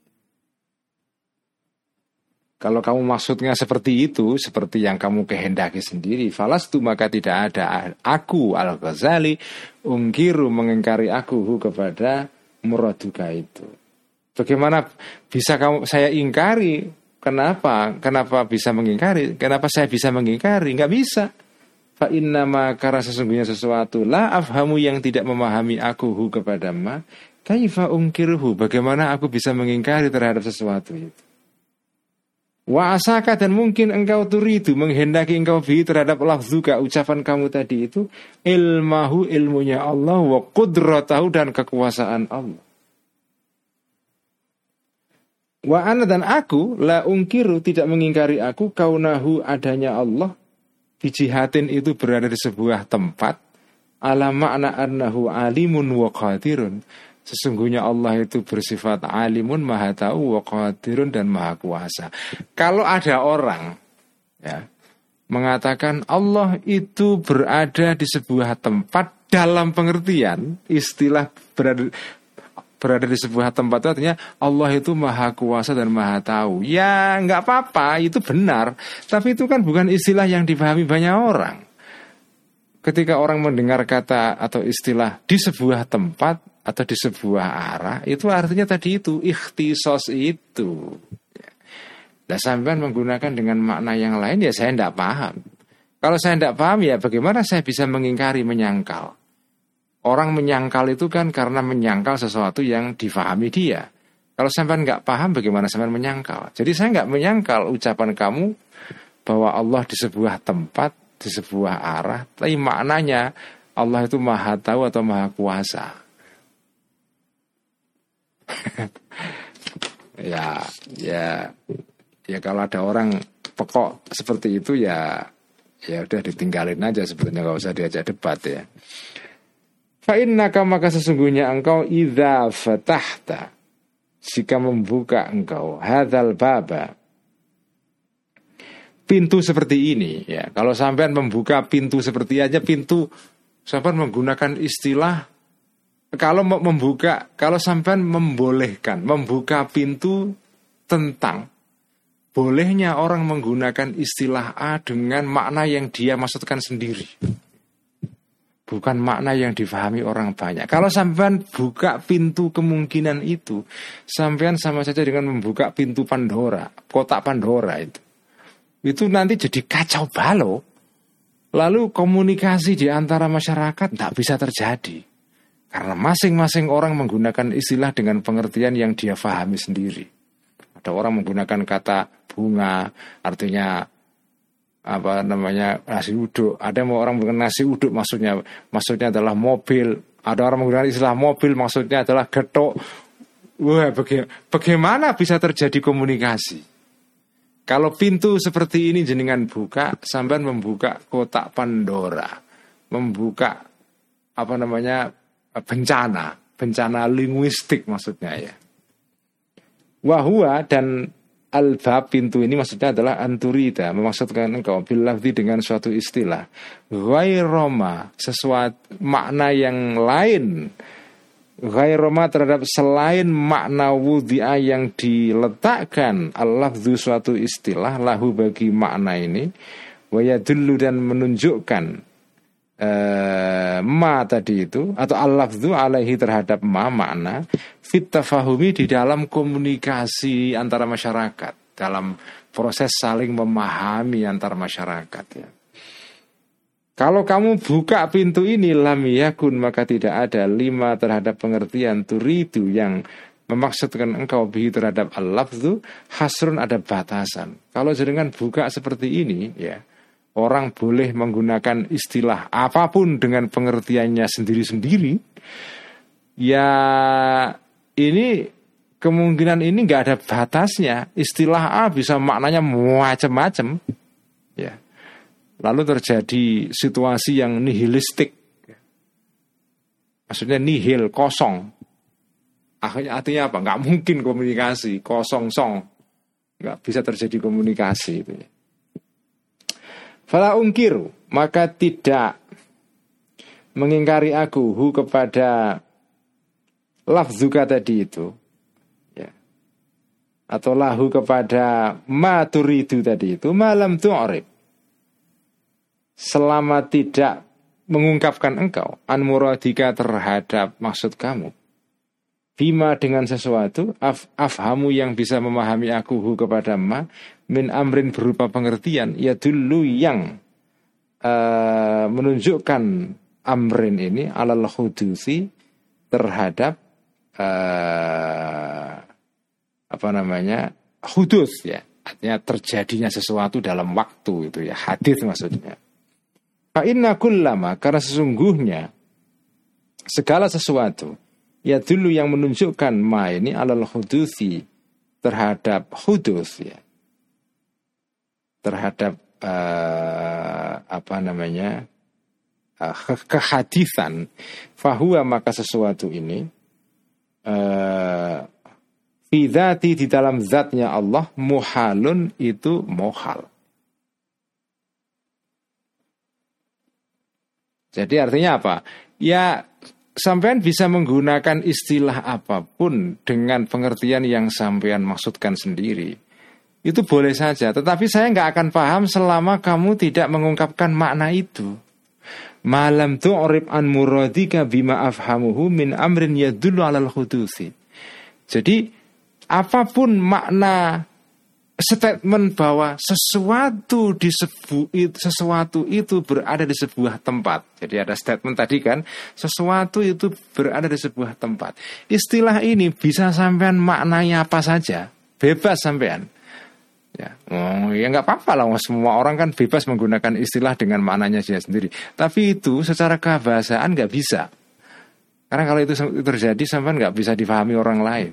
[SPEAKER 1] Kalau kamu maksudnya seperti itu, seperti yang kamu kehendaki sendiri, falastu maka tidak ada aku Al-Ghazali ungkiru mengingkari aku kepada muraduka itu. Bagaimana bisa kamu saya ingkari? Kenapa? Kenapa bisa mengingkari? Kenapa saya bisa mengingkari? Enggak bisa. Fa innama karena sesungguhnya sesuatu la afhamu yang tidak memahami aku kepada ma kaifa ungkiruhu. Bagaimana aku bisa mengingkari terhadap sesuatu itu? Wa asaka, dan mungkin engkau turidu menghendaki engkau bi terhadap lafzuka ucapan kamu tadi itu ilmahu ilmunya Allah wa qudratahu dan kekuasaan Allah. Wa ana dan aku la ungkiru tidak mengingkari aku kaunahu adanya Allah bijihatin itu berada di sebuah tempat ala makna annahu alimun wa qadirun. Sesungguhnya Allah itu bersifat alimun, maha tahu, wa qadirun, dan maha kuasa. Kalau ada orang ya mengatakan Allah itu berada di sebuah tempat dalam pengertian istilah berada berada di sebuah tempat itu artinya Allah itu maha kuasa dan maha tahu. Ya nggak apa-apa, itu benar. Tapi itu kan bukan istilah yang dipahami banyak orang. Ketika orang mendengar kata atau istilah di sebuah tempat atau di sebuah arah, itu artinya tadi itu ikhtisos itu. Nah, sampean menggunakan dengan makna yang lain, ya saya tidak paham. Kalau saya tidak paham, ya bagaimana saya bisa mengingkari, menyangkal? Orang menyangkal itu kan karena menyangkal sesuatu yang difahami dia. Kalau sampean nggak paham, bagaimana sampean menyangkal? Jadi saya nggak menyangkal ucapan kamu bahwa Allah di sebuah tempat, di sebuah arah, tapi maknanya Allah itu maha tahu atau maha kuasa. ya, ya, ya kalau ada orang pekok seperti itu ya, ya udah ditinggalin aja sebetulnya, nggak usah diajak debat ya. Fa innaka maka sesungguhnya engkau idza fatahta, jika membuka engkau hadzal baba, pintu seperti ini ya. Kalau sampean membuka pintu seperti aja pintu, sampean menggunakan istilah. Kalau membuka, kalau sampean membolehkan membuka pintu tentang bolehnya orang menggunakan istilah A dengan makna yang dia maksudkan sendiri, bukan makna yang difahami orang banyak. Kalau sampean buka pintu kemungkinan itu, sampean sama saja dengan membuka pintu Pandora, kotak Pandora itu. Itu nanti jadi kacau balau. Lalu komunikasi di antara masyarakat tidak bisa terjadi. Karena masing-masing orang menggunakan istilah dengan pengertian yang dia fahami sendiri. Ada orang menggunakan kata bunga, artinya apa namanya nasi uduk. Ada orang menggunakan nasi uduk maksudnya maksudnya adalah mobil. Ada orang menggunakan istilah mobil maksudnya adalah getok. Wah, baga- bagaimana bisa terjadi komunikasi? Kalau pintu seperti ini jenengan buka, sampean membuka kotak Pandora, membuka apa namanya bencana, bencana linguistik maksudnya ya. Wahua dan al-bab pintu ini maksudnya adalah anturida, memaksudkan engkau bilafzi dengan suatu istilah ghairoma, sesuatu makna yang lain, ghairoma terhadap selain makna wudhi'a yang diletakkan al-lafzu suatu istilah lahu bagi makna ini, wa yadullu dan menunjukkan Uh, ma tadi itu atau al-lafzu alaihi terhadap ma makna fit tafahumi di dalam komunikasi antara masyarakat, dalam proses saling memahami antar masyarakat ya. Kalau kamu buka pintu ini lam yakun, maka tidak ada lima terhadap pengertian turidu yang memaksudkan engkau bihi terhadap al-lafzu hasrun, ada batasan. Kalau jenengan buka seperti ini ya, orang boleh menggunakan istilah apapun dengan pengertiannya sendiri-sendiri. Ya ini kemungkinan ini nggak ada batasnya. Istilah A bisa maknanya macam-macam. Ya. Lalu terjadi situasi yang nihilistik, maksudnya nihil, kosong. Akhirnya artinya apa? Nggak mungkin komunikasi, kosong-song, nggak bisa terjadi komunikasi itu. Fala ungkiru, maka tidak mengingkari aku hu kepada lafzuka tadi itu, ya. Atau lahu kepada ma turidu tadi itu, malam tu'rib, selama tidak mengungkapkan engkau an muradika terhadap maksud kamu, bima dengan sesuatu af, afhamu yang bisa memahami aku hu kepada ma min amrin berupa pengertian, ya dulu yang uh, menunjukkan amrin ini alal hudusi terhadap uh, apa namanya hudus, ya, artinya terjadinya sesuatu dalam waktu itu, ya, hadits maksudnya. Fa inna kullama, karena sesungguhnya segala sesuatu ya dulu yang menunjukkan ma ini alal hudusi terhadap hudus, ya, terhadap uh, apa namanya uh, kehadisan, fahuwa, maka sesuatu ini uh, fi dzati, di dalam zatnya Allah, muhalun, itu muhal. Jadi artinya apa? Ya, sampean bisa menggunakan istilah apapun dengan pengertian yang sampean maksudkan sendiri. Itu boleh saja, tetapi saya nggak akan paham selama kamu tidak mengungkapkan makna itu. Malam tu'rib an muradika bima afhamuhu min amrin yadullu alal hudusi. Jadi apapun makna statement bahwa sesuatu di sebu, sesuatu itu berada di sebuah tempat. Jadi ada statement tadi kan, sesuatu itu berada di sebuah tempat. Istilah ini bisa sampean maknanya apa saja, bebas sampean. Ya, oh, ya nggak apa-apa lah, semua orang kan bebas menggunakan istilah dengan maknanya dia sendiri. Tapi itu secara kebahasaan nggak bisa. Karena kalau itu terjadi, sampean nggak bisa dipahami orang lain.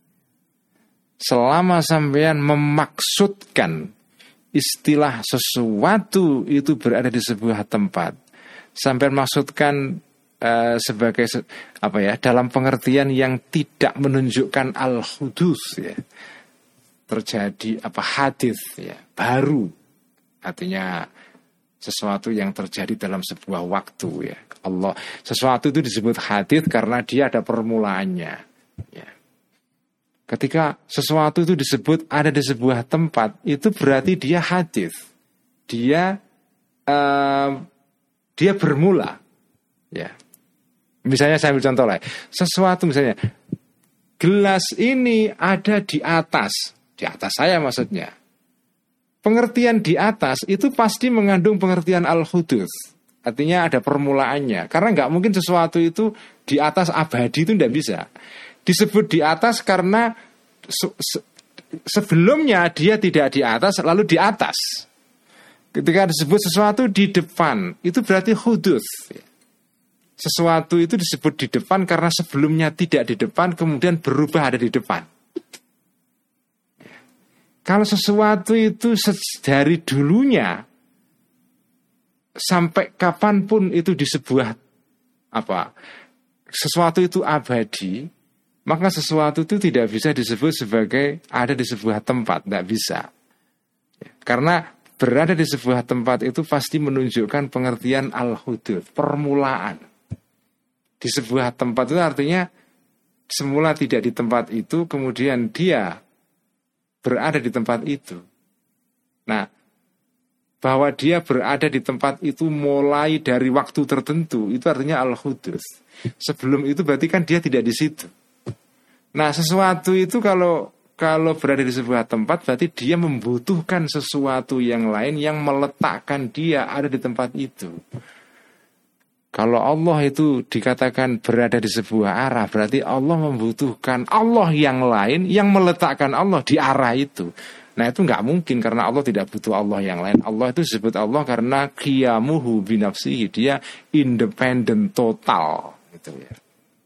[SPEAKER 1] Selama sampean memaksudkan istilah sesuatu itu berada di sebuah tempat, sampean maksudkan uh, sebagai apa ya, dalam pengertian yang tidak menunjukkan al-hudus, ya, terjadi apa hadis, ya, baru, artinya sesuatu yang terjadi dalam sebuah waktu, ya. Allah, sesuatu itu disebut hadis karena dia ada permulaannya, ya. Ketika sesuatu itu disebut ada di sebuah tempat, itu berarti dia hadis, dia uh, dia bermula, ya. Misalnya saya ambil contoh lah, sesuatu misalnya gelas ini ada di atas, di atas saya maksudnya. Pengertian di atas itu pasti mengandung pengertian al-hudus, artinya ada permulaannya. Karena nggak mungkin sesuatu itu di atas abadi, itu tidak bisa. Disebut di atas karena se- se- sebelumnya dia tidak di atas, lalu di atas. Ketika disebut sesuatu di depan, itu berarti hudus. Sesuatu itu disebut di depan karena sebelumnya tidak di depan, kemudian berubah ada di depan. Kalau sesuatu itu dari dulunya sampai kapanpun itu di sebuah apa, sesuatu itu abadi, maka sesuatu itu tidak bisa disebut sebagai ada di sebuah tempat, tidak bisa. Karena berada di sebuah tempat itu pasti menunjukkan pengertian al-hudud, permulaan. Di sebuah tempat itu artinya semula tidak di tempat itu, kemudian dia berada di tempat itu. Nah, bahwa dia berada di tempat itu mulai dari waktu tertentu, itu artinya al-hudud. Sebelum itu berarti kan dia tidak di situ. Nah, sesuatu itu kalau kalau berada di sebuah tempat berarti dia membutuhkan sesuatu yang lain yang meletakkan dia ada di tempat itu. Kalau Allah itu dikatakan berada di sebuah arah, berarti Allah membutuhkan Allah yang lain yang meletakkan Allah di arah itu. Nah itu nggak mungkin karena Allah tidak butuh Allah yang lain. Allah itu disebut Allah karena qiyamuhu binafsihi, dia independen total gitu ya.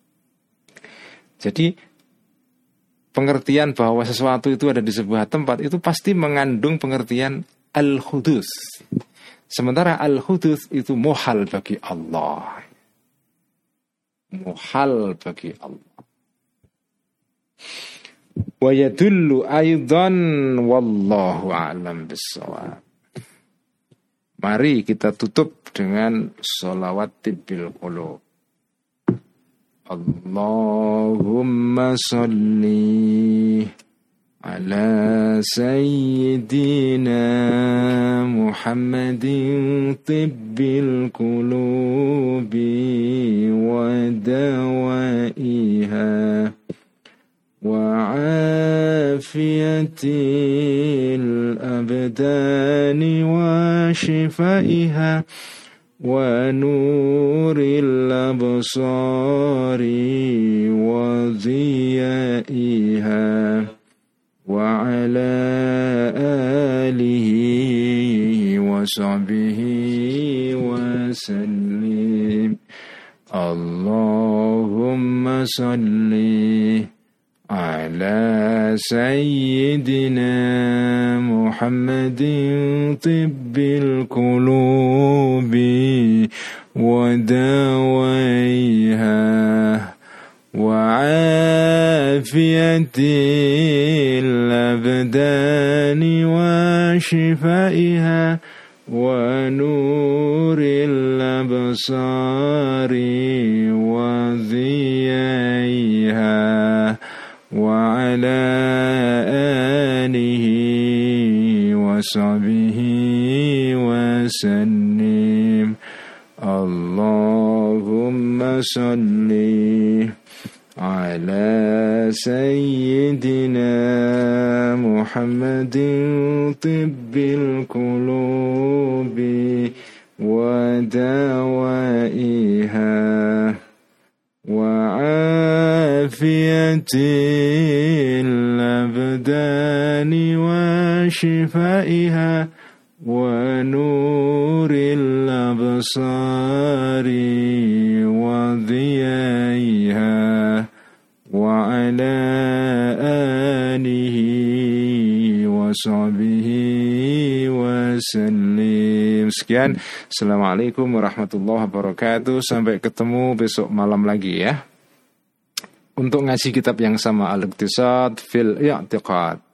[SPEAKER 1] Jadi pengertian bahwa sesuatu itu ada di sebuah tempat itu pasti mengandung pengertian al-hudus. Sementara al-hudus itu muhal bagi Allah. Muhal bagi Allah. Wa yadullu aidan wallahu a'lam bissawab. Mari kita tutup dengan sholawat tibbil qulub. Allahumma sholli ala sayyidina Muhammadin tibbil qulubi wa dawaiha wa afiyatil abdani wa shifaiha wa nuril absari wa ziyaiha wa ala alihi wa sahbihi wa sallim. Allahumma salli ala sayyidina Muhammadin tibbil qulubi wa dawaiha wa afiyatil abdani wa shifaiha wa nuril absari wa ziyaiha wa ala alihi wa sahbihi wa sallim. Allahumma salli ala sayyidina Muhammadin tibbil qulubi wa dawaiha wa afiyatil abdani wa shifaiha wa nuril absari wa dhiyaiha wa ala alihi wa sahbihi wa sallim. Sekian, assalamualaikum warahmatullahi wabarakatuh. Sampai ketemu besok malam lagi ya, untuk ngaji kitab yang sama, Al-Iqtisad fil I'tiqad.